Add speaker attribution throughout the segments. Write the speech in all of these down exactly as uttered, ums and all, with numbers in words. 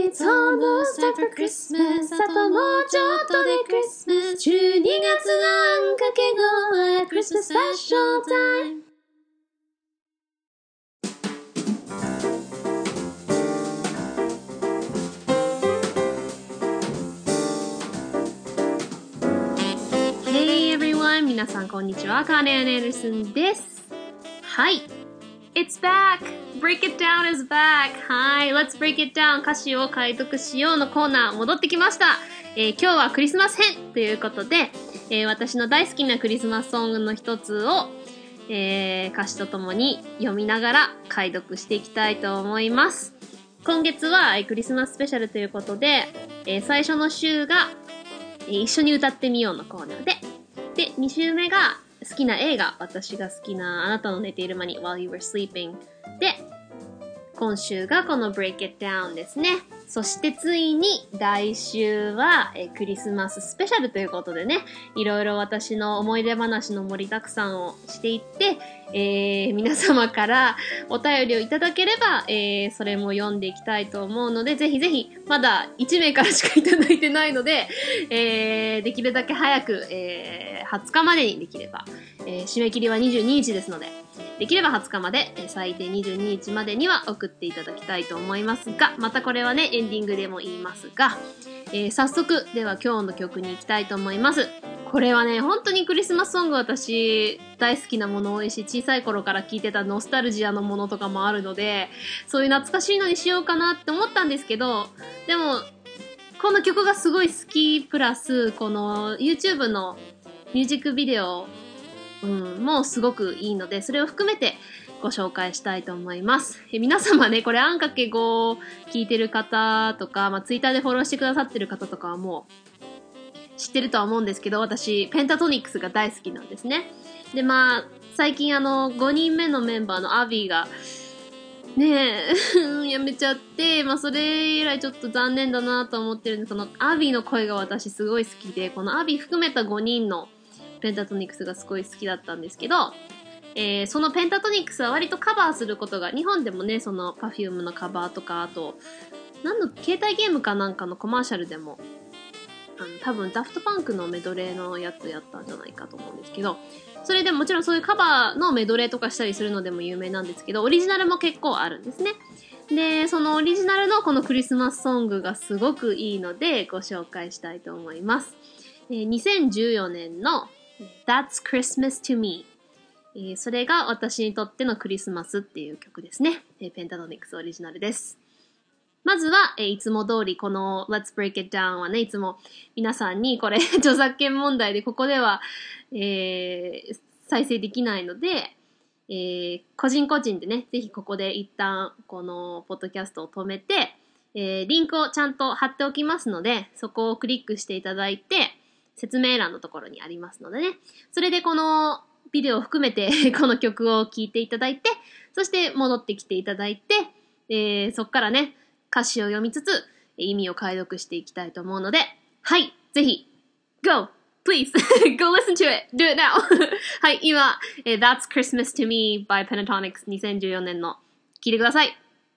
Speaker 1: It's almost time for Christmas あともうちょっとで Christmas じゅうにがつのあんかけごは Christmas Special Time Hey everyone! 皆さんこんにちは。カーネアン・エンダーソンです。はい。It's back! Break it down is back! はい。Let's break it down! 歌詞を解読しようのコーナー戻ってきました。えー、今日はクリスマス編ということで、えー、私の大好きなクリスマスソングの一つを、えー、歌詞とともに読みながら解読していきたいと思います。今月は、えー、クリスマススペシャルということで、えー、最初の週が、えー、一緒に歌ってみようのコーナーで、で、に週目が好きな映画、私が好きなあなたの寝ている間に While You Were Sleeping で、今週がこの Break It Down ですね。そしてついに来週はえクリスマススペシャルということでね、いろいろ私の思い出話の盛りだくさんをしていって、えー、皆様からお便りをいただければ、えー、それも読んでいきたいと思うので、ぜひぜひ、まだいち名からしかいただいてないので、えー、できるだけ早く、えー、はつかまでにできれば、えー、締め切りはにじゅうににちですので、できればはつかまで、最低にじゅうににちまでには送っていただきたいと思いますが、またこれはね、エンディングでも言いますが、えー、早速、では今日の曲に行きたいと思います。これはね、本当にクリスマスソング私大好きなもの多いし、小さい頃から聴いてたノスタルジアのものとかもあるので、そういう懐かしいのにしようかなって思ったんですけど、でも、この曲がすごい好きプラス、この YouTube のミュージックビデオうん、もうすごくいいので、それを含めてご紹介したいと思います。え皆様ね、これあんかけご聞いてる方とか、まあ、Twitter でフォローしてくださってる方とかはもう知ってるとは思うんですけど、私、ペンタトニックスが大好きなんですね。で、まあ、最近あの、ごにんめのメンバーのアビーが、ねえ、辞めちゃって、まあそれ以来ちょっと残念だなと思ってるんで、そのアビーの声が私すごい好きで、このアビー含めたごにんのペンタトニックスがすごい好きだったんですけど、えー、そのペンタトニックスは割とカバーすることが、日本でもね、その Perfume のカバーとか、あと、何の、携帯ゲームかなんかのコマーシャルでも、あの、多分ダフトパンクのメドレーのやつやったんじゃないかと思うんですけど、それでももちろんそういうカバーのメドレーとかしたりするのでも有名なんですけど、オリジナルも結構あるんですね。で、そのオリジナルのこのクリスマスソングがすごくいいのでご紹介したいと思います。えー、にせんじゅうよねんのThat's Christmas to Me、えー、それが私にとってのクリスマスっていう曲ですね。えー、ペンタトニックスオリジナルです。まずは、えー、いつも通りこの Let's Break It Down はね、いつも皆さんにこれ著作権問題でここでは、えー、再生できないので、えー、個人個人でね、ぜひここで一旦このポッドキャストを止めて、えー、リンクをちゃんと貼っておきますので、そこをクリックしていただいて、説明欄のところにありますのでね。それでこのビデオを含めてこの曲を聴いていただいて、そして戻ってきていただいて、えー、そっからね、歌詞を読みつつ意味を解読していきたいと思うので、はい、ぜひ、Go! Please! Go listen to it! Do it now! はい、今、えー、That's Christmas to Me by Pentatonix にせんじゅうよねんの聴いてください。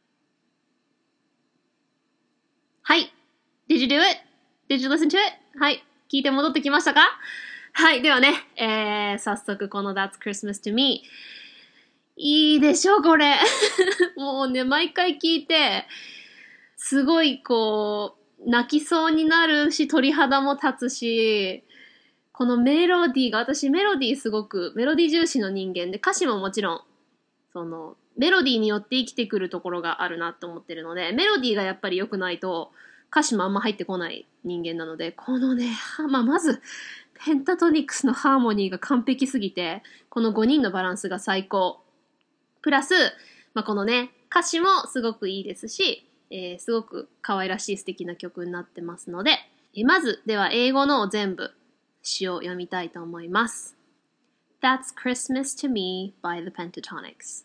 Speaker 1: はい。Did you do it? Did you listen to it? はい。聞いて戻ってきましたか？はい。ではね、えー、早速この That's Christmas to Me。いいでしょ、これ。もうね、毎回聞いて、すごいこう、泣きそうになるし、鳥肌も立つし、このメロディーが、私メロディーすごく、メロディー重視の人間で、歌詞ももちろん、その、メロディーによって生きてくるところがあるなと思ってるので、メロディーがやっぱり良くないと、歌詞もあんま入ってこない人間なので、このね、まあ、まず、ペンタトニックスのハーモニーが完璧すぎて、このごにんのバランスが最高。プラス、まあ、このね、歌詞もすごくいいですし、えー、すごく可愛らしい素敵な曲になってますので、えー、まず、では英語のを全部詩を読みたいと思います。That's Christmas to Me by the Pentatonix.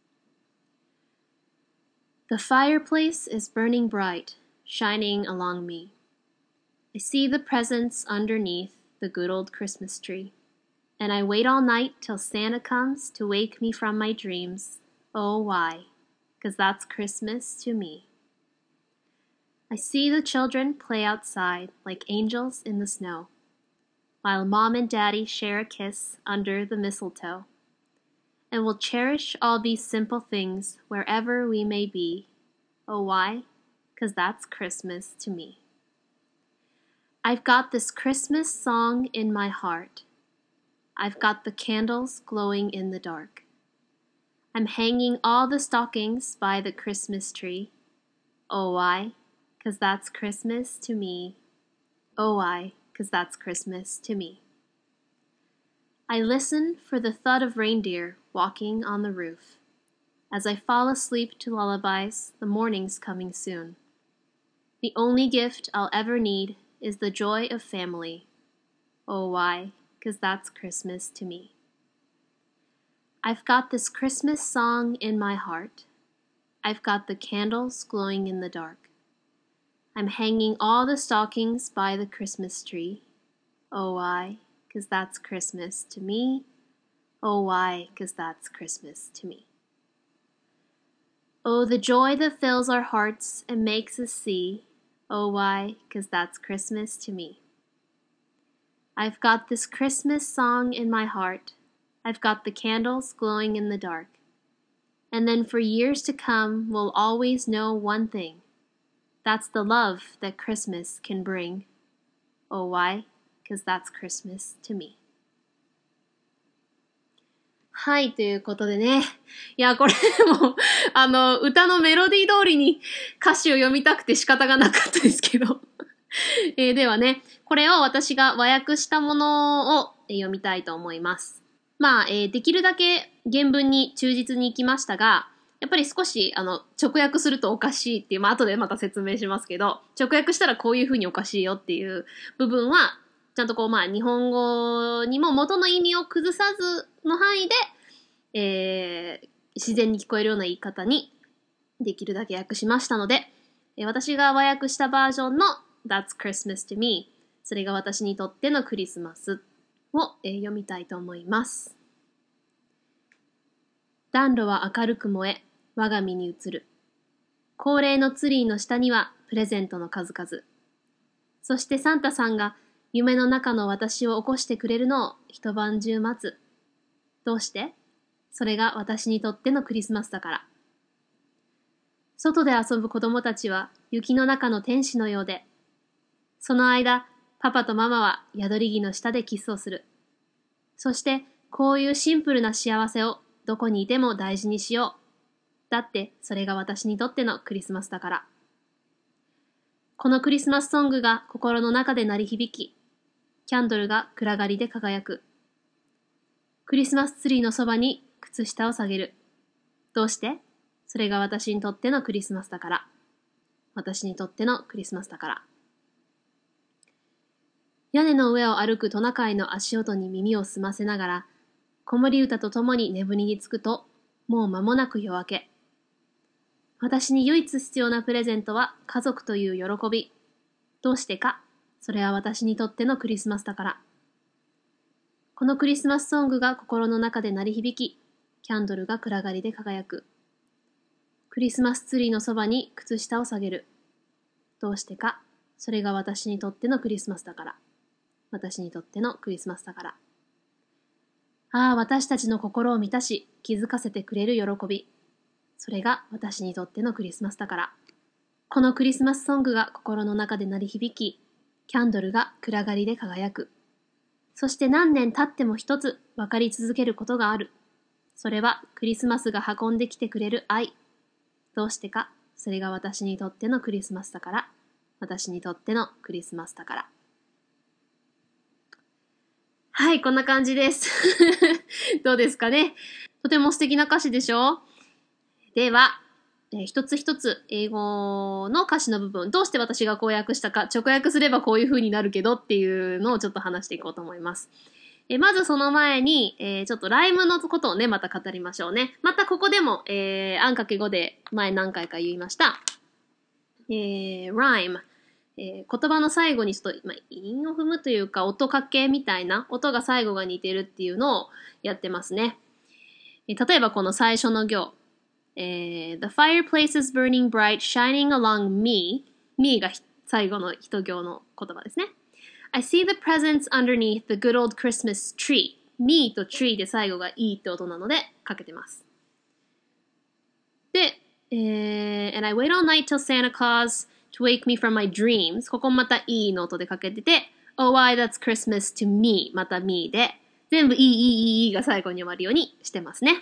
Speaker 1: The fireplace is burning bright, shining along me. I see the presents underneath the good old Christmas tree. And I wait all night till Santa comes to wake me from my dreams. Oh, why? 'Cause that's Christmas to me. I see the children play outside like angels in the snow, while mom and daddy share a kiss under the mistletoe. And we'll cherish all these simple things wherever we may be. Oh, why? 'Cause that's Christmas to me. I've got this Christmas song in my heart. I've got the candles glowing in the dark. I'm hanging all the stockings by the Christmas tree. Oh, why? 'Cause that's Christmas to me. Oh, why? 'Cause that's Christmas to me. I listen for the thud of reindeer walking on the roof. As I fall asleep to lullabies, the morning's coming soon. The only gift I'll ever need is the joy of family. Oh, why? 'Cause that's Christmas to me. I've got this Christmas song in my heart. I've got the candles glowing in the dark. I'm hanging all the stockings by the Christmas tree. Oh, why? 'Cause that's Christmas to me. Oh, why? 'Cause that's Christmas to me. Oh, the joy that fills our hearts and makes us see. Oh, why? 'Cause that's Christmas to me. I've got this Christmas song in my heart. I've got the candles glowing in the dark. And then for years to come, we'll always know one thing. That's the love that Christmas can bring. Oh, why? 'Cause that's Christmas to me. はい、ということでね。いや、これも、あの、歌のメロディー通りに歌詞を読みたくて仕方がなかったですけど。えー、ではね、これを私が和訳したものを読みたいと思います。まあ、えー、できるだけ原文に忠実にいきましたが、やっぱり少し、あの、直訳するとおかしいっていう、まあ、後でまた説明しますけど、直訳したらこういう風におかしいよっていう部分は、ちゃんとこう、まあ、日本語にも元の意味を崩さずの範囲で、えー、自然に聞こえるような言い方にできるだけ訳しましたので、えー、私が和訳したバージョンの That's Christmas to me、 それが私にとってのクリスマスを、えー、読みたいと思います。暖炉は明るく燃え、我が身に映る。恒例のツリーの下にはプレゼントの数々。そしてサンタさんが夢の中の私を起こしてくれるのを一晩中待つ。どうして？それが私にとってのクリスマスだから。外で遊ぶ子供たちは雪の中の天使のようで、その間、パパとママは宿り木の下でキスをする。そして、こういうシンプルな幸せをどこにいても大事にしよう。だって、それが私にとってのクリスマスだから。このクリスマスソングが心の中で鳴り響き、キャンドルが暗がりで輝く。クリスマスツリーのそばに靴下を下げる。どうして？それが私にとってのクリスマスだから。私にとってのクリスマスだから。屋根の上を歩くトナカイの足音に耳を澄ませながら、子守歌とともに眠りにつくと、もう間もなく夜明け。私に唯一必要なプレゼントは家族という喜び。どうしてか？それは私にとってのクリスマスだから。このクリスマスソングが心の中で鳴り響き、キャンドルが暗がりで輝く。クリスマスツリーのそばに靴下を下げる。どうしてか？それが私にとってのクリスマスだから。私にとってのクリスマスだから。ああ、私たちの心を満たし、気づかせてくれる喜び。それが私にとってのクリスマスだから。このクリスマスソングが心の中で鳴り響き、キャンドルが暗がりで輝く。そして何年経っても一つ分かり続けることがある。それはクリスマスが運んできてくれる愛。どうしてか、それが私にとってのクリスマスだから。私にとってのクリスマスだから。はい、こんな感じです。どうですかね。とても素敵な歌詞でしょ？では、えー、一つ一つ英語の歌詞の部分、どうして私がこう訳したか、直訳すればこういう風になるけどっていうのをちょっと話していこうと思います。えー、まずその前に、えー、ちょっとライムのことをね、また語りましょうね。またここでも、えー、あんかけごで前何回か言いました。えー、rhyme。えー、言葉の最後にちょっと、まあ、韻を踏むというか、音かけみたいな、音が最後が似てるっていうのをやってますね。えー、例えばこの最初の行。えー、The fireplace is burning bright, shining along me. me が最後の一行の言葉ですね。I see the presents underneath the good old Christmas tree.me と tree で最後が e って音なのでかけてます。で、えー、and I wait all night till Santa Claus to wake me from my dreams. ここまた e の音でかけてて、Oh why that's Christmas to me また me で、全部 e, e, e, e が最後に終わるようにしてますね。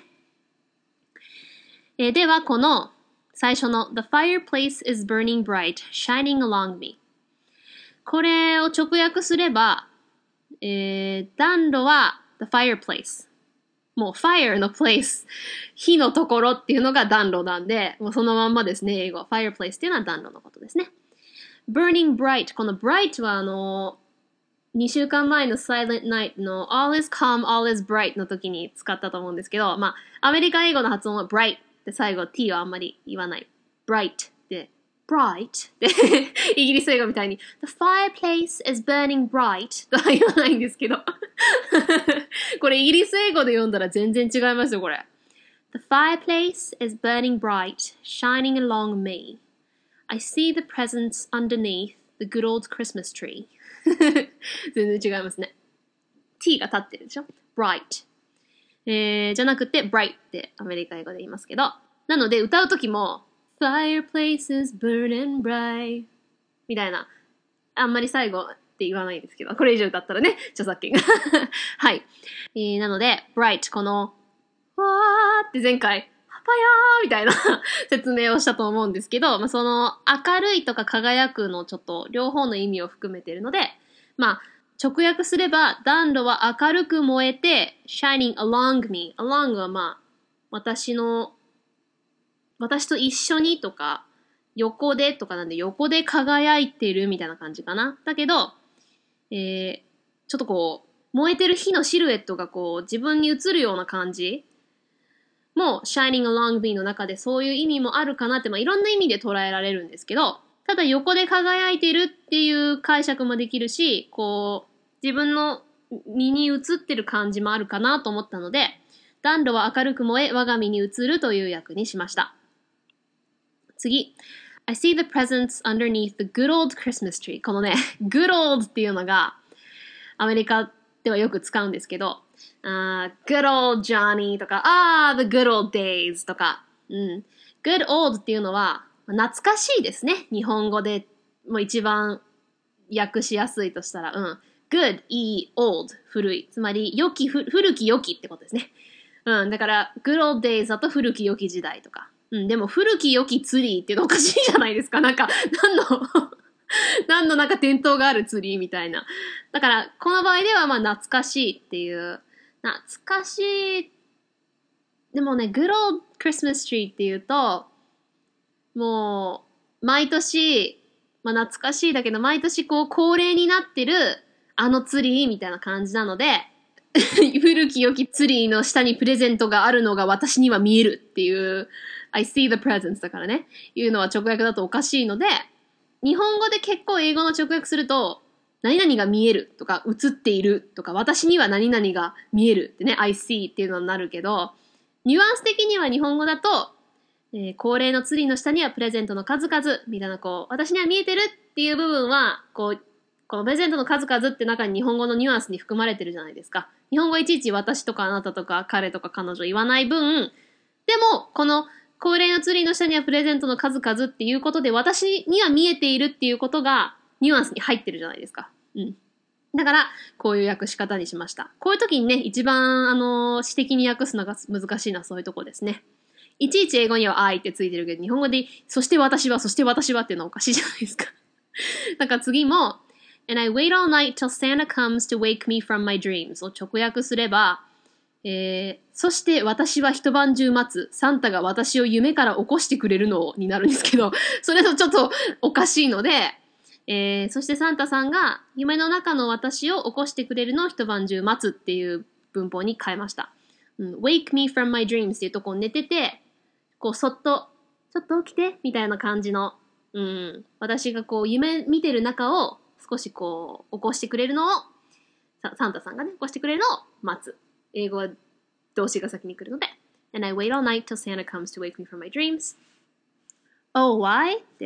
Speaker 1: えー、ではこの最初の The fireplace is burning bright, shining along me. これを直訳すれば、えー、暖炉はThe fireplace. もう fire の place。火のところっていうのが暖炉なんで、もうそのまんまですね、英語。fireplace っていうのは暖炉のことですね。burning bright。この bright はあの、にしゅうかんまえの Silent Night の All is calm, all is bright の時に使ったと思うんですけど、まあ、アメリカ英語の発音は bright って最後 t はあんまり言わない。bright で、bright で、イギリス英語みたいに The fireplace is burning bright とは言わないんですけど。これイギリス英語で読んだら全然違いますよ、これ。The fireplace is burning bright, shining along me. I see the presents underneath the good old Christmas tree. 全然違いますね。t が立ってるでしょ bright、えー、じゃなくて bright ってアメリカ英語で言いますけど、なので歌うときも fireplace is burning bright みたいな、あんまり最後って言わないですけど、これ以上歌ったらね、著作権がはい、えー、なので bright このわーって前回ハパヤーみたいな説明をしたと思うんですけど、まあ、その明るいとか輝くのちょっと両方の意味を含めているので、まあ直訳すれば暖炉は明るく燃えて shining along me。 along はまあ私の私と一緒にとか横でとかなんで横で輝いてるみたいな感じかな。だけど、えー、ちょっとこう燃えてる火のシルエットがこう自分に映るような感じも shining along me の中でそういう意味もあるかなって、まあ、いろんな意味で捉えられるんですけど、ただ横で輝いてるっていう解釈もできるし、こう自分の身に映ってる感じもあるかなと思ったので、暖炉は明るく燃え我が身に映るという訳にしました。次。I see the presents underneath the good old Christmas tree. このね、good old っていうのがアメリカではよく使うんですけど、Uh, good old Johnny とか、あー、the good old days とか、うん。good old っていうのは、懐かしいですね。日本語でもう一番訳しやすいとしたら、うん。good, いい、old, 古い。つまり、良き、古き良きってことですね。うん。だから、good old days だと古き良き時代とか。うん。でも、古き良きツリーっていうのおかしいじゃないですか。なんか、何の何のなんか伝統があるツリーみたいな。だから、この場合では、まあ、懐かしいっていう、懐かしい。でもね、Good Old Christmas Tree っていうと、もう、毎年、まあ懐かしいだけど、毎年こう恒例になってる、あのツリーみたいな感じなので、古き良きツリーの下にプレゼントがあるのが私には見えるっていう、I see the presents だからね、いうのは直訳だとおかしいので、日本語で結構英語の直訳すると、何々が見えるとか映っているとか私には何々が見えるってね I see っていうのになるけど、ニュアンス的には日本語だと、えー、恒例のツリーの下にはプレゼントの数々みたいな、こう私には見えてるっていう部分はこうこのプレゼントの数々って中に日本語のニュアンスに含まれてるじゃないですか。日本語いちいち私とかあなたとか彼とか彼女言わない分、でもこの恒例のツリーの下にはプレゼントの数々っていうことで私には見えているっていうことがニュアンスに入ってるじゃないですか。うん。だから、こういう訳し方にしました。こういう時にね、一番、あのー、詩的に訳すのが難しいのはそういうとこですね。いちいち英語には I ってついてるけど、日本語で、そして私は、そして私はっていうのはおかしいじゃないですか。だから次も、And I wait all night till Santa comes to wake me from my dreams を直訳すれば、えー、そして私は一晩中待つ。サンタが私を夢から起こしてくれるのになるんですけど、それとちょっとおかしいので、えー、そしてサンタさんが夢の中の私を起こしてくれるのを一晩中待つっていう文法に変えました。うん、wake me from my dreams っていうとこう寝てて、こうそっと、ちょっと起きてみたいな感じの、うん、私がこう夢見てる中を少しこう起こしてくれるのを、サンタさんがね、起こしてくれるのを待つ。英語は動詞が先に来るので、And I wait all night till Santa comes to wake me from my dreams. Oh, why? って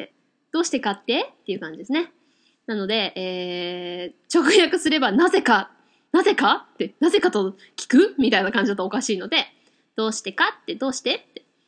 Speaker 1: どうしてかってっていう感じですね。なので、えー、直訳すればなぜか、なぜかって、なぜかと聞くみたいな感じだとおかしいので、どうしてかって、どうしてって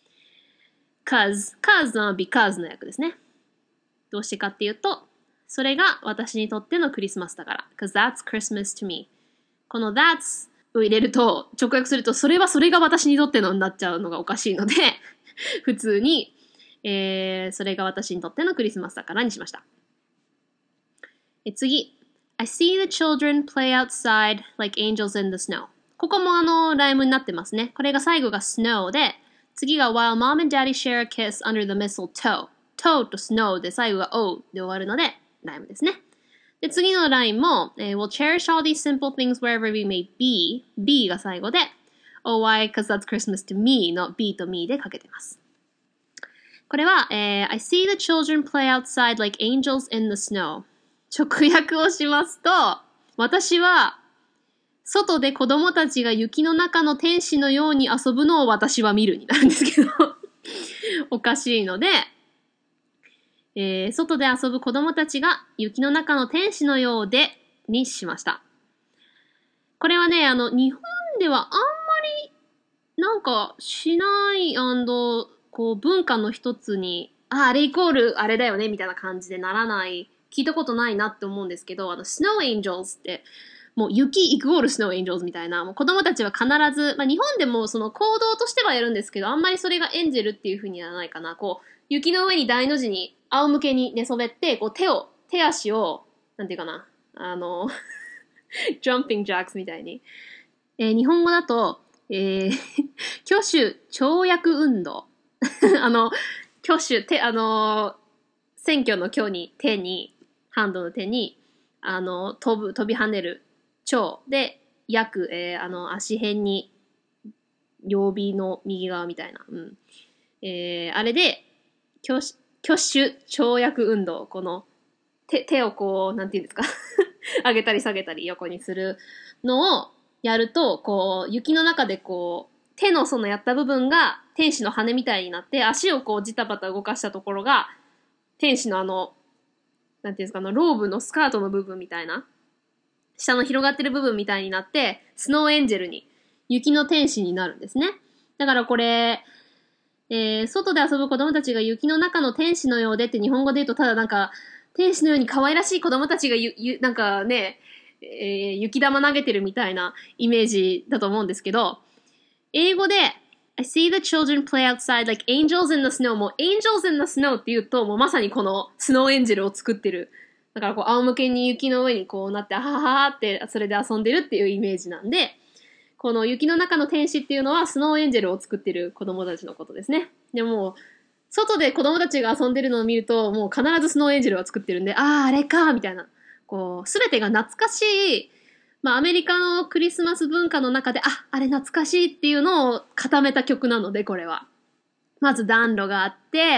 Speaker 1: 。cause, cause の because の訳ですね。どうしてかっていうと、それが私にとってのクリスマスだから。cause that's Christmas to me. この that's を入れると、直訳すると、それはそれが私にとってのになっちゃうのがおかしいので、普通に、えー、それが私にとってのクリスマスだからにしました。え次。I see the children play outside like angels in the snow. ここもあの、ライムになってますね。これが最後が snow で、次が while mom and daddy share a kiss under the mistletoe. toe と snow で最後が o で終わるので、ライムですね。で、次のラインも、えー、we'll cherish all these simple things wherever we may be. be が最後で、oh why, cause that's Christmas to me の be と me でかけてます。これは、えー、I see the children play outside like angels in the snow. 直訳をしますと、私は、外で子供たちが雪の中の天使のように遊ぶのを私は見るになるんですけど、おかしいので、えー、外で遊ぶ子供たちが雪の中の天使のようでにしました。これはね、あの、日本ではあんまりなんかしない、こう文化の一つに、あ、あれイコールあれだよねみたいな感じでならない、聞いたことないなって思うんですけど、あの、Snow Angels って、もう雪イコール Snow Angels みたいな、もう子供たちは必ず、まあ日本でもその行動としてはやるんですけど、あんまりそれがエンジェルっていう風にはないかな。こう、雪の上に大の字に仰向けに寝そべって、こう手を、手足を、なんていうかな、あの、jumping jacks みたいに。えー、日本語だと、えー、挙手跳躍運動。あの、挙手、手、あの、選挙の挙に、手に、ハンドの手に、あの、飛ぶ、飛び跳ねる、跳で、躍、えー、あの、足辺に、両臂の右側みたいな。うん。えー、あれで、挙手、挙手跳躍運動。この、手、手をこう、なんていうんですか。上げたり下げたり横にするのをやると、こう、雪の中でこう、手のそのやった部分が天使の羽みたいになって、足をこうジタバタ動かしたところが、天使のあの、なんていうんですか、あの、ローブのスカートの部分みたいな、下の広がってる部分みたいになって、スノーエンジェルに、雪の天使になるんですね。だからこれ、えー、外で遊ぶ子供たちが雪の中の天使のようでって日本語で言うと、ただなんか、天使のように可愛らしい子供たちがゆ、ゆ、なんかね、えー、雪玉投げてるみたいなイメージだと思うんですけど、英語で、I see the children play outside like angels in the snow. もう angels in the snow って言うと、もうまさにこのスノーエンジェルを作ってる。だからこう仰向けに雪の上にこうなって、あはははってそれで遊んでるっていうイメージなんで、この雪の中の天使っていうのはスノーエンジェルを作ってる子供たちのことですね。でも、外で子供たちが遊んでるのを見ると、もう必ずスノーエンジェルは作ってるんで、ああ、あれか、みたいな。こう、すべてが懐かしい、まあアメリカのクリスマス文化の中で、あ、あれ懐かしいっていうのを固めた曲なので、これは。まず暖炉があって、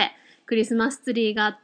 Speaker 1: クリスマスツリーがあって、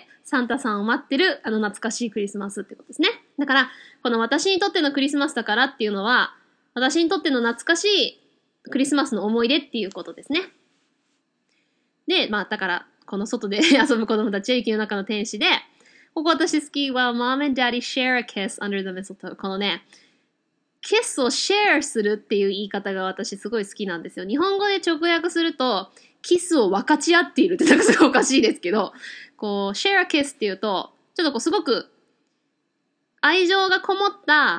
Speaker 1: サンタさんを待ってる、あの懐かしいクリスマスってことですね。だから、この私にとってのクリスマスだからっていうのは、私にとっての懐かしいクリスマスの思い出っていうことですね。で、まあ、だから、この外で遊ぶ子供たちは雪の中の天使で、ここ私好きは、Mom and Daddy share a kiss under the mistletoe。このね、キスをシェアするっていう言い方が私すごい好きなんですよ。日本語で直訳すると、キスを分かち合っているってなんかすごいおかしいですけど、こう、share a kiss っていうと、ちょっとこうすごく愛情がこもった、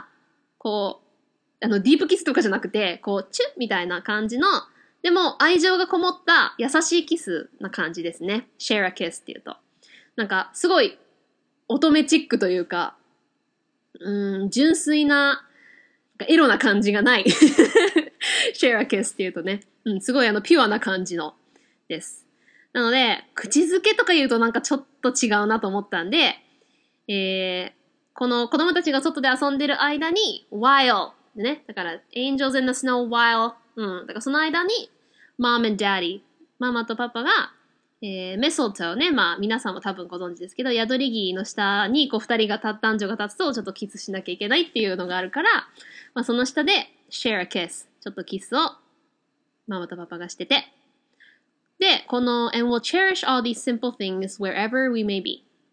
Speaker 1: こう、あの、ディープキスとかじゃなくて、こう、チュッみたいな感じの、でも愛情がこもった優しいキスな感じですね。share a kiss っていうと。なんか、すごい乙女チックというか、うーん、純粋な、エロな感じがない。share a kiss っていうとね。うん、すごいあの、ピュアな感じのです。なので、口づけとか言うとなんかちょっと違うなと思ったんで、えー、この子供たちが外で遊んでる間に、while ね。だから、angels in the snow while うん。だからその間に、mom and daddy ママとパパが、えー、メソッドね。まあ、皆さんも多分ご存知ですけど、宿り木の下に、こう、二人が立っ、男女が立つと、ちょっとキスしなきゃいけないっていうのがあるから、まあ、その下で、share a kiss ちょっとキスを、ママとパパがしてて。で、この、and we'll cherish all these simple things wherever we may be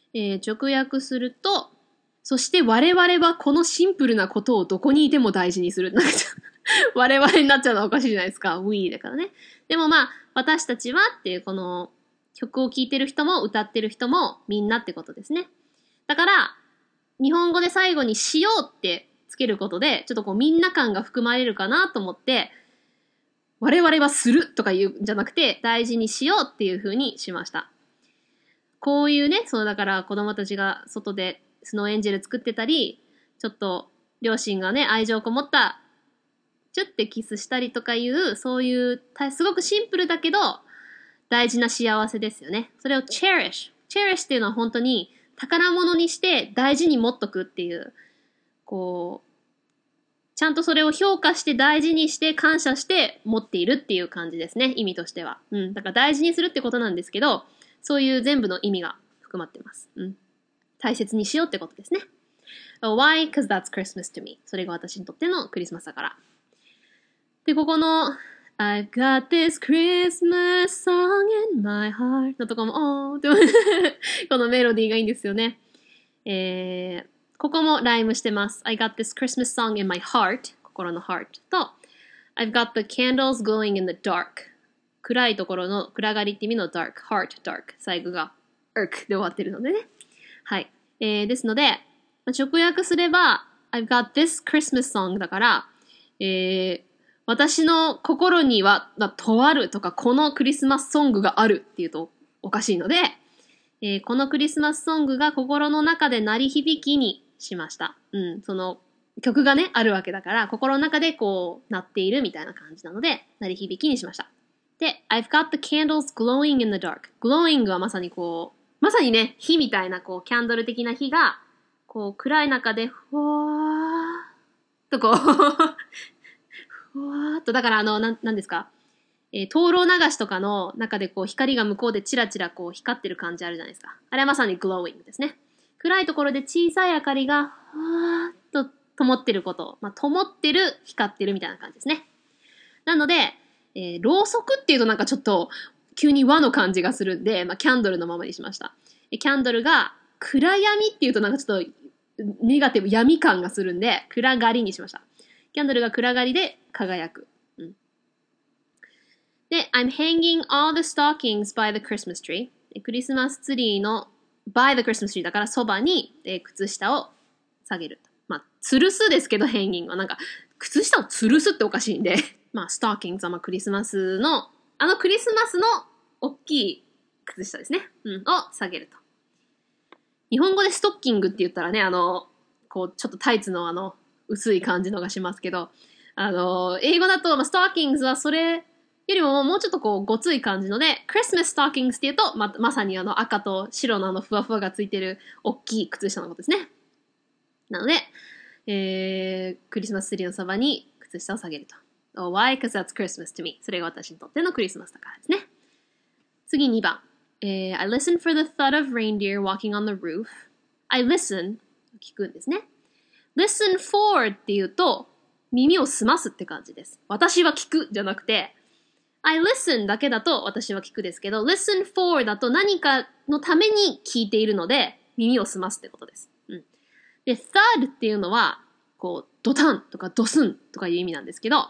Speaker 1: えー、直訳すると、そして我々はこのシンプルなことをどこにいても大事にする。なんか我々になっちゃうのはおかしいじゃないですか。we だからね。でもまあ、私たちはっていうこの曲を聴いてる人も歌ってる人もみんなってことですね。だから、日本語で最後にしようってつけることで、ちょっとこうみんな感が含まれるかなと思って、我々はするとか言うんじゃなくて、大事にしようっていう風にしました。こういうね、そうだから子供たちが外でスノーエンジェル作ってたり、ちょっと両親がね、愛情こもった、チュッてキスしたりとかいう、そういう、すごくシンプルだけど、大事な幸せですよね。それを cherish。cherish っていうのは本当に宝物にして大事に持っとくっていう、こう、ちゃんとそれを評価して大事にして感謝して持っているっていう感じですね。意味としては。うん。だから大事にするってことなんですけど、そういう全部の意味が含まってます。うん。大切にしようってことですね。Why? Because that's Christmas to me. それが私にとってのクリスマスだから。で、ここの I've got this Christmas song in my heart のとこも、おーってこのメロディーがいいんですよね。えー、ここもライムしてます。I got this Christmas song in my heart 心の heart と I've got the candles glowing in the dark 暗いところの暗がりって意味の dark heart dark 最後が irk で終わってるのでね。はい。えー、ですので、直訳すれば I've got this Christmas song だから、えー、私の心には、とあるとか、このクリスマスソングがあるっていうとおかしいので、えー、このクリスマスソングが心の中で鳴り響きにしました。うん、その曲がね、あるわけだから、心の中でこう、鳴っているみたいな感じなので、鳴り響きにしました。で、I've got the candles glowing in the dark. glowing はまさにこう、まさにね、火みたいなこう、キャンドル的な火が、こう、暗い中で、ふわーっとこう、ふわーっと、だからあの、なん、なんですか、えー、灯籠流しとかの中でこう、光が向こうでチラチラこう、光ってる感じあるじゃないですか。あれはまさに glowing ですね。暗いところで小さい明かりが、ふわーっと灯ってること。まあ、灯ってる、光ってるみたいな感じですね。なので、えー、ろうそくっていうとなんかちょっと、急に和の感じがするんで、まあ、キャンドルのままにしました。キャンドルが、暗闇っていうとなんかちょっと、ネガティブ、闇感がするんで、暗がりにしました。キャンドルが暗がりで輝く。うん、で、I'm hanging all the stockings by the Christmas tree. クリスマスツリーの by the Christmas tree だからそばに、えー、靴下を下げる。まあ、吊るすですけど、ヘンギングはなんか、靴下を吊るすっておかしいんで、まあ、ストッキングはまあクリスマスの、あのクリスマスの大きい靴下ですね。うん、を下げると。日本語でストッキングって言ったらね、あの、こう、ちょっとタイツのあの、薄い感じのがしますけど、あの、英語だと、まあ、ストッキングはそれよりももうちょっとこう、ごつい感じので、クリスマスストッキングって言うと、ま、まさにあの赤と白のあのふわふわがついてる大きい靴下のことですね。なので、えー、クリスマスツリーのそばに靴下を下げると。Oh, why? Because that's Christmas to me. それが私にとってのクリスマスだからですね。次にばん。えー、I listen for the thud of reindeer walking on the roof. I listen 聞くんですね。listen for っていうと耳を澄ますって感じです。私は聞くじゃなくて I listen だけだと私は聞くですけど listen for だと何かのために聞いているので耳を澄ますってことです。うん、で thud っていうのはこうドタンとかドスンとかいう意味なんですけど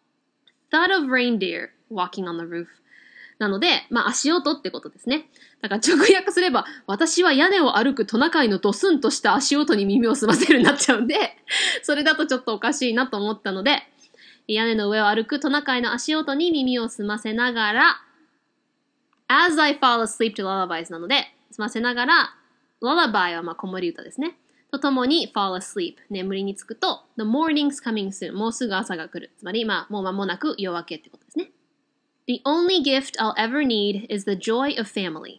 Speaker 1: thud of reindeer walking on the roofなので、まあ足音ってことですね。だから直訳すれば、私は屋根を歩くトナカイのドスンとした足音に耳を澄ませるになっちゃうんで、それだとちょっとおかしいなと思ったので、屋根の上を歩くトナカイの足音に耳を澄ませながら、as I fall asleep to lullabies なので、澄ませながら、lullaby はまあ子守歌ですね。とともに fall asleep 眠りにつくと the morning's coming soon もうすぐ朝が来る。つまり、まあもう間もなく夜明けってことですね。The only gift I'll ever need is the joy of family.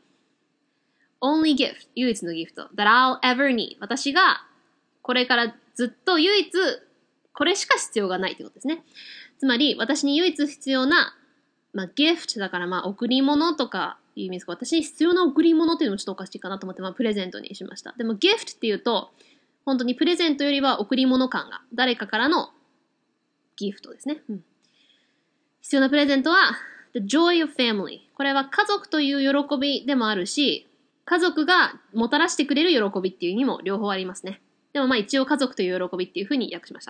Speaker 1: Only gift, 唯一のギフト that I'll ever need. 私がこれからずっと唯一これしか必要がないってことですね。つまり私に唯一必要な、まあ、ギフトだからまあ贈り物とかいう意味ですが、私に必要な贈り物っていうのもちょっとおかしいかなと思って、まあ、プレゼントにしました。でもギフトっていうと本当にプレゼントよりは贈り物感が誰かからのギフトですね。うん、必要なプレゼントはThe joy of family. これは家族という喜びでもあるし、 家族がもたらしてくれる喜びっていう意味も両方ありますね。でもまあ一応家族という喜びっていうふうに訳しました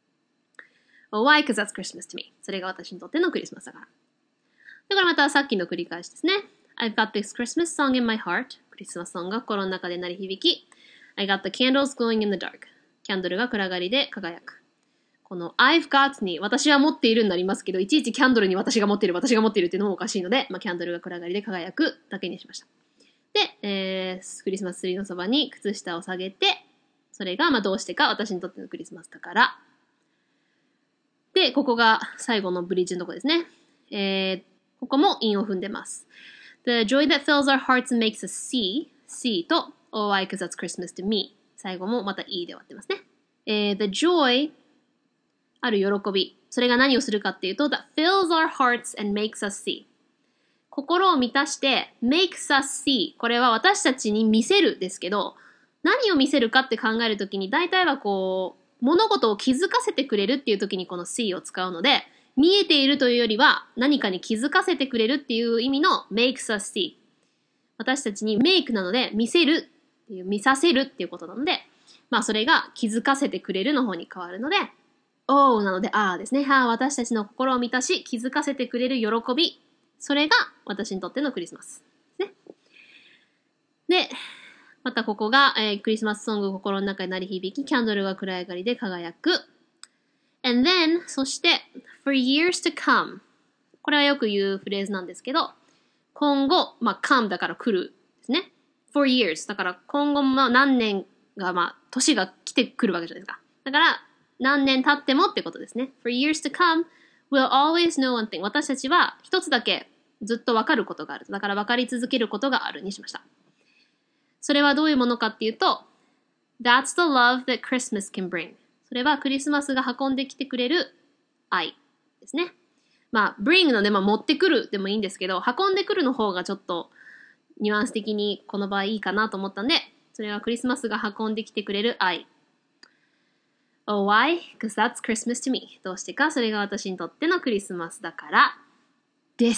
Speaker 1: 。Oh, why? Because that's Christmas to me. それが私にとってのクリスマスだから。だからまたさっきの繰り返しですね。I've got this Christmas song in my heart. クリスマスソングが心の中で鳴り響き。I got the candles glowing in the dark. キャンドルが暗がりで輝く。この I've got に私は持っているになりますけど、いちいちキャンドルに私が持っている、私が持っているっていうのもおかしいので、まあ、キャンドルが暗がりで輝くだけにしました。で、えー、クリスマスツリーのそばに靴下を下げて、それがまあどうしてか私にとってのクリスマスだから。で、ここが最後のブリッジのとこですね。えー、ここも韻を踏んでます。The joy that fills our hearts and makes us see, see と Oh, why? Because that's Christmas to me. 最後もまた E で終わってますね。えー、The joyある喜び。それが何をするかっていうと、that fills our hearts and makes us see. 心を満たして makes us see. これは私たちに見せるですけど、何を見せるかって考えるときに、大体はこう、物事を気づかせてくれるっていうときにこの see を使うので、見えているというよりは何かに気づかせてくれるっていう意味の makes us see. 私たちに make なので見せるっていう、見させるっていうことなので、まあそれが気づかせてくれるの方に変わるので、Oh なので、あーですね。はあ、私たちの心を満たし、気づかせてくれる喜び。それが私にとってのクリスマス。ね。で、またここが、えー、クリスマスソング心の中に鳴り響き、キャンドルが暗い明かりで輝く。And then, そして、for years to come。これはよく言うフレーズなんですけど、今後、まあ、come だから来るですね。for years。だから今後も何年が、まあ、年が来てくるわけじゃないですか。だから、何年経ってもってことですね。For years to come, we'll always know one thing. 私たちは一つだけずっと分かることがある。だから分かり続けることがあるにしました。それはどういうものかっていうと、That's the love that Christmas can bring. それはクリスマスが運んできてくれる愛ですね。まあ、bring ので、まあ、持ってくるでもいいんですけど、運んでくるの方がちょっとニュアンス的にこの場合いいかなと思ったんで、それはクリスマスが運んできてくれる愛。Oh, why? Because that's Christmas to me. どうしてか、それが私にとってのクリスマスだから、です。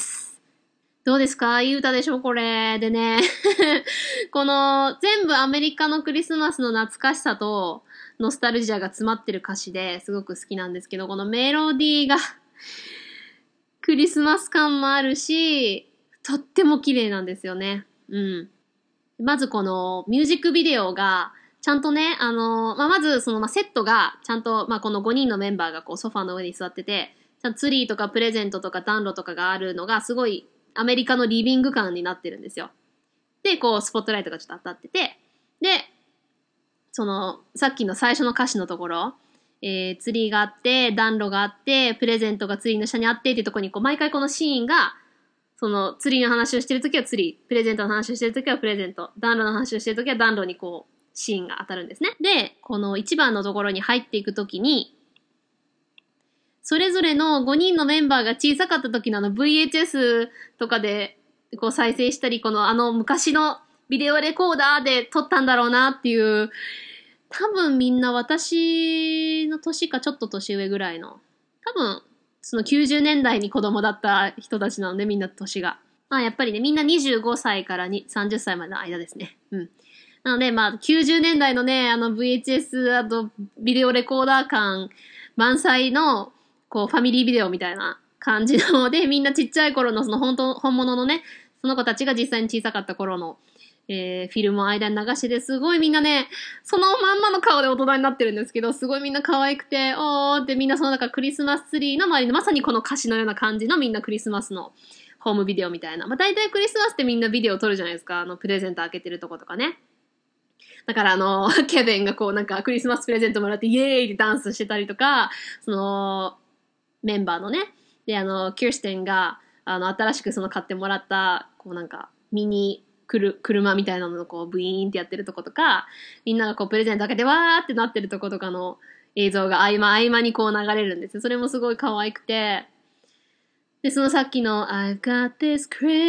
Speaker 1: どうですか？いい歌でしょこれ。でね、この全部アメリカのクリスマスの懐かしさとノスタルジアが詰まってる歌詞ですごく好きなんですけど、このメロディーがクリスマス感もあるし、とっても綺麗なんですよね。うん。まずこのミュージックビデオが、ちゃんとね、あの、まあ、まず、その、まあ、セットが、ちゃんと、まあ、このごにんのメンバーがこう、ソファーの上に座ってて、ちゃんとツリーとかプレゼントとか暖炉とかがあるのが、すごい、アメリカのリビング感になってるんですよ。で、こう、スポットライトがちょっと当たってて、で、その、さっきの最初の歌詞のところ、えー、ツリーがあって、暖炉があって、プレゼントがツリーの下にあってっていうところに、こう、毎回このシーンが、その、ツリーの話をしてるときはツリー、プレゼントの話をしてるときはプレゼント、暖炉の話をしてるときは暖炉にこう、シーンが当たるんですね。で、このいちばんのところに入っていくときに、それぞれのごにんのメンバーが小さかった時のあの ブイエイチエス とかでこう再生したり、このあの昔のビデオレコーダーで撮ったんだろうなっていう、多分みんな私の年かちょっと年上ぐらいの、多分そのきゅうじゅうねんだいに子供だった人たちなので、みんな年が。まあやっぱりね、みんなにじゅうごさいからさんじゅっさいまでの間ですね。うん。なので、まあ、きゅうじゅうねんだいのね、あの ブイエイチエス、あと、ビデオレコーダー感満載の、こう、ファミリービデオみたいな感じなので、みんなちっちゃい頃の、その本当、本物のね、その子たちが実際に小さかった頃の、えー、フィルムを間に流してて、すごいみんなね、そのまんまの顔で大人になってるんですけど、すごいみんな可愛くて、おーってみんなその中クリスマスツリーの周りの、まさにこの歌詞のような感じのみんなクリスマスのホームビデオみたいな。まあ、大体クリスマスってみんなビデオ撮るじゃないですか。あの、プレゼント開けてるとことかね。だからあの、ケビンがこうなんかクリスマスプレゼントもらってイエーイってダンスしてたりとか、その、メンバーのね、であの、キューステンが、あの、新しくその買ってもらった、こうなんか、ミニ、くる、車みたいなのをこう、ブイーンってやってるとことか、みんながこう、プレゼント開けてわーってなってるとことかの映像が合間合間にこう流れるんですよ。それもすごい可愛くて、で、そのさっきの I've got this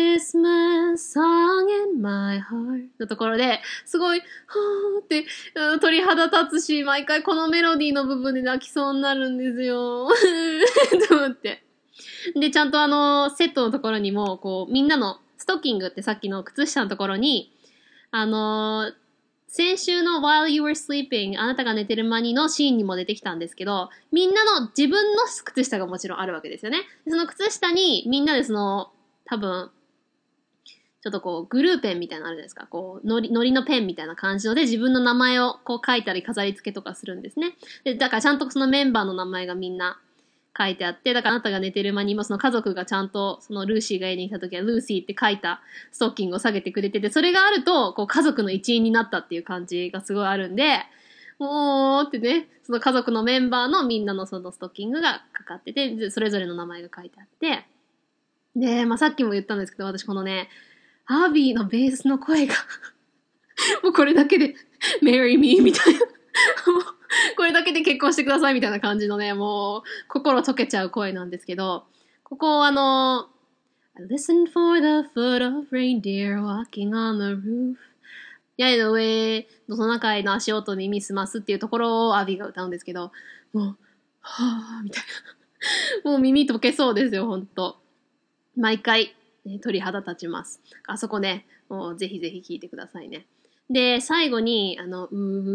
Speaker 1: Christmas song in my heart のところで、すごい、はーって、うん、鳥肌立つし、毎回このメロディーの部分で泣きそうになるんですよ。と思って。で、ちゃんとあの、セットのところにも、こう、みんなのストッキングってさっきの靴下のところに、 あのー、先週の While You Were Sleeping あなたが寝てる間にのシーンにも出てきたんですけど、みんなの自分の靴下がもちろんあるわけですよね。その靴下にみんなでその、多分、ちょっとこう、グルーペンみたいなのあるじゃないですか。こう、のり、のりのペンみたいな感じので、自分の名前をこう書いたり飾り付けとかするんですね。で、だからちゃんとそのメンバーの名前がみんな書いてあって、だからあなたが寝てる間にもその家族がちゃんと、そのルーシーが家に来た時はルーシーって書いたストッキングを下げてくれてて、それがあると、こう、家族の一員になったっていう感じがすごいあるんで、おーってね、その家族のメンバーのみんなのそのストッキングがかかってて、それぞれの名前が書いてあって、で、まあ、さっきも言ったんですけど、私このね、アービーのベースの声がもうこれだけで Marry me みたいなこれだけで結婚してくださいみたいな感じのね、もう心溶けちゃう声なんですけど、ここあの I listen for the foot of reindeer walking on the roof 八重の上のトナカイの足音に耳すますっていうところをアービーが歌うんですけど、もうはぁみたいなもう耳溶けそうですよ、ほんと。毎回鳥肌立ちます。あそこね、もうぜひぜひ聞いてくださいね。で、最後に、あの、う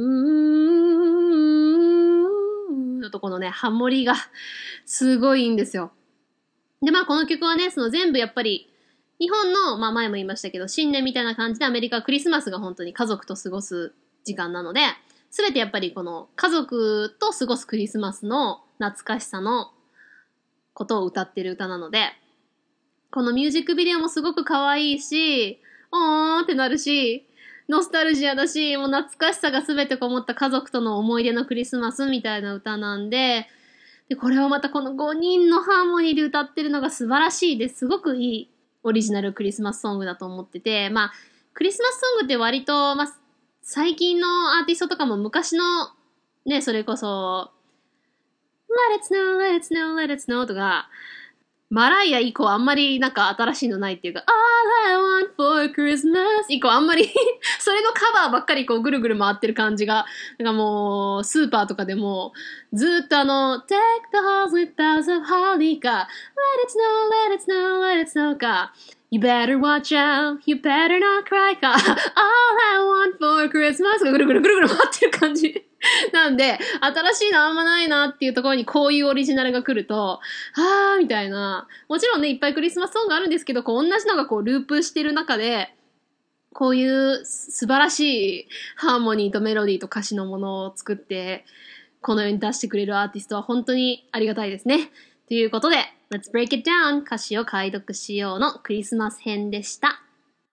Speaker 1: ーのとこのね、ハモリがすごいいいんですよ。で、まあこの曲はね、その全部やっぱり、日本の、まあ前も言いましたけど、新年みたいな感じでアメリカはクリスマスが本当に家族と過ごす時間なので、すべてやっぱりこの家族と過ごすクリスマスの懐かしさのことを歌ってる歌なので、このミュージックビデオもすごく可愛いし、おーってなるし、ノスタルジアだし、もう懐かしさがすべてこもった家族との思い出のクリスマスみたいな歌なんで、で、これをまたこのごにんのハーモニーで歌ってるのが素晴らしいです。すごくいいオリジナルクリスマスソングだと思ってて、まあ、クリスマスソングって割と、まあ、最近のアーティストとかも昔の、ね、それこそ、Let it snow, let it snow, let it snow とか、マライア以降あんまりなんか新しいのないっていうか All I want for Christmas 以降あんまりそれのカバーばっかりこうぐるぐる回ってる感じがなんかもうスーパーとかでもずーっとあの Take the halls with boughs of holly か Let it snow, let it snow, let it snow か You better watch out, you better not cry か All I want for Christmas がぐるぐるぐるぐる回ってる感じなんで、新しいのあんまないなっていうところにこういうオリジナルが来ると、はーみたいな。もちろんね、いっぱいクリスマスソングあるんですけど、こう同じのがこうループしてる中で、こういう素晴らしいハーモニーとメロディーと歌詞のものを作って、この世に出してくれるアーティストは本当にありがたいですね。ということで、Let's Break It Down 歌詞を解読しようのクリスマス編でした。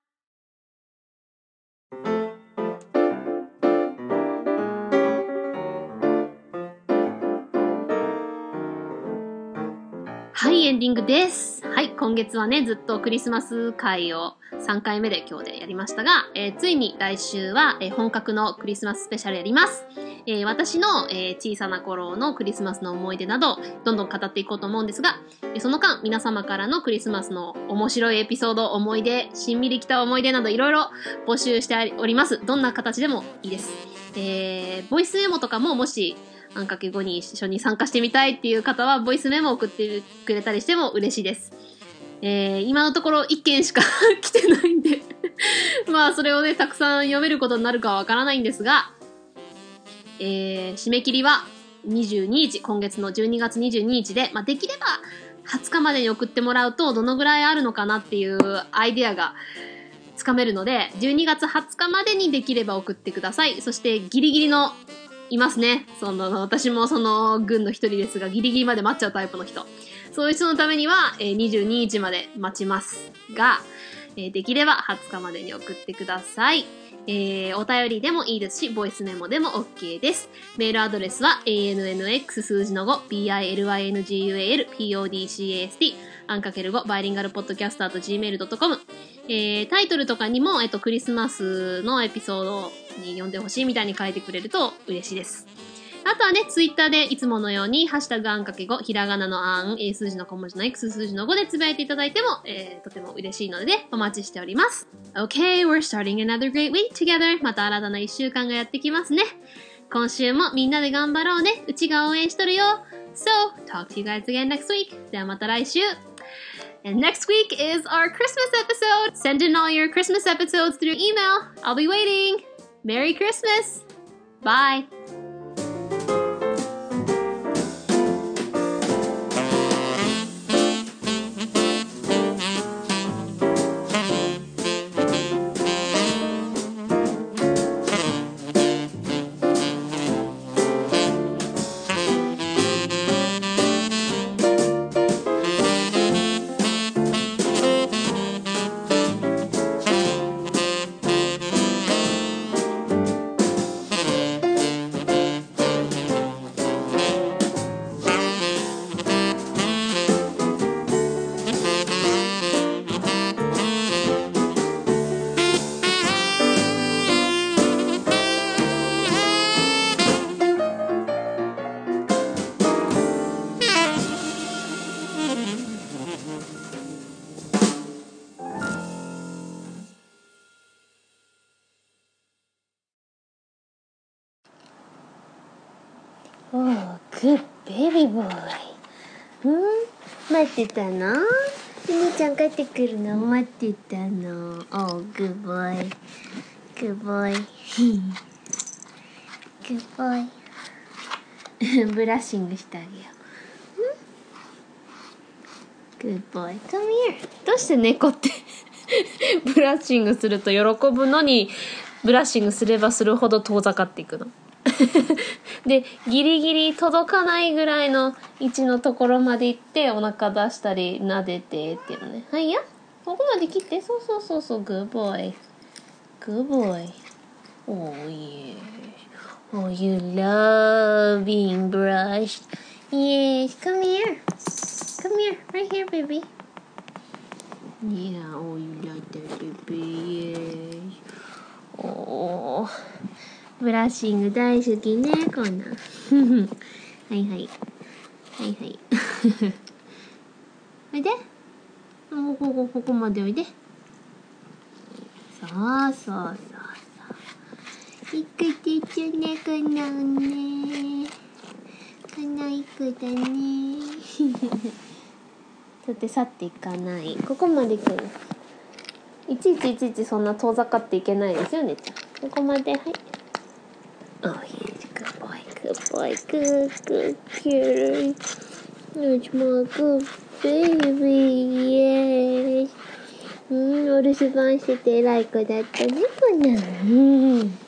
Speaker 1: はい、エンディングです。はい、今月はね、ずっとクリスマス会をさんかいめで今日でやりましたが、えー、ついに来週は、えー、本格のクリスマススペシャルやります。えー、私の、えー、小さな頃のクリスマスの思い出など、どんどん語っていこうと思うんですが、えー、その間、皆様からのクリスマスの面白いエピソード、思い出、しんみりきた思い出などいろいろ募集しております。どんな形でもいいです。えー、ボイスメモとかももし、あんかけごに一緒に参加してみたいっていう方は、ボイスメモを送ってくれたりしても嬉しいです。えー、今のところいっけんしか来てないんでまあ、それをね、たくさん読めることになるかはわからないんですが、えー、締め切りはにじゅうににち、今月のじゅうにがつにじゅうににちで、まあ、できればはつかまでに送ってもらうと、どのぐらいあるのかなっていうアイデアがつかめるので、じゅうにがつはつかまでにできれば送ってください。そして、ギリギリのいますね。その、私もその軍の一人ですが、ギリギリまで待っちゃうタイプの人。そういう人のためには、えー、にじゅうににちまで待ちますが、えー、できればはつかまでに送ってください。えー、お便りでもいいですし、ボイスメモでも OK です。メールアドレスは エーエヌエヌエックス 数字のご ビーアイエルアイエヌジーユーエーエル ポッドキャスト アンかけるご バイリンガルポッドキャスト アット ジーメール ドットコム えー、タイトルとかにも、えっと、クリスマスのエピソードに読んでほしいみたいに書いてくれると嬉しいです。あとはね、ツイッターでいつものように、ハッシュタグあんかけご、ひらがなのあん、数字の小文字の X、数字のごでつぶやいていただいても、えー、とても嬉しいので、ね、お待ちしております。Okay, we're starting another great week together. また新たな一週間がやってきますね。今週もみんなで頑張ろうね。うちが応援しとるよ。So, talk to you guys again next week. ではまた来週。 And next week is our Christmas episode. Send in all your Christmas episodes through email. I'll be waiting. Merry Christmas. Bye.
Speaker 2: Oh, good baby boy. うん待ってたの？お兄ちゃん帰ってくるの待ってたの。Oh, good boy. Good boy. Good boy. ブラッシングしてあげよう。Good boy. Come here. どうして猫ってブラッシングすると喜ぶのにブラッシングすればするほど遠ざかっていくのでギリギリ届かないぐらいの位置のところまで行ってお腹出したり撫でてっていうのね。はいやここまで切ってそうそうそうそう Good boy Good boy Oh yeah Oh you love being brushed Yes come here Come here right here baby Yeah oh you like that baby Yes Ohブラッシング大好きねこんなんはいはいはいはいおいでこここここまでおいでそうそうそうそういくちちゅねこのねこのいくだねだって去っていかないここまで来るいちいちいちいちそんな遠ざかっていけないですよねちゃんここまではいOh, yes, good boy, good boy, good, good kitty. That's my good baby, yes. うん、お留守番してて偉い子だったね、こんなの。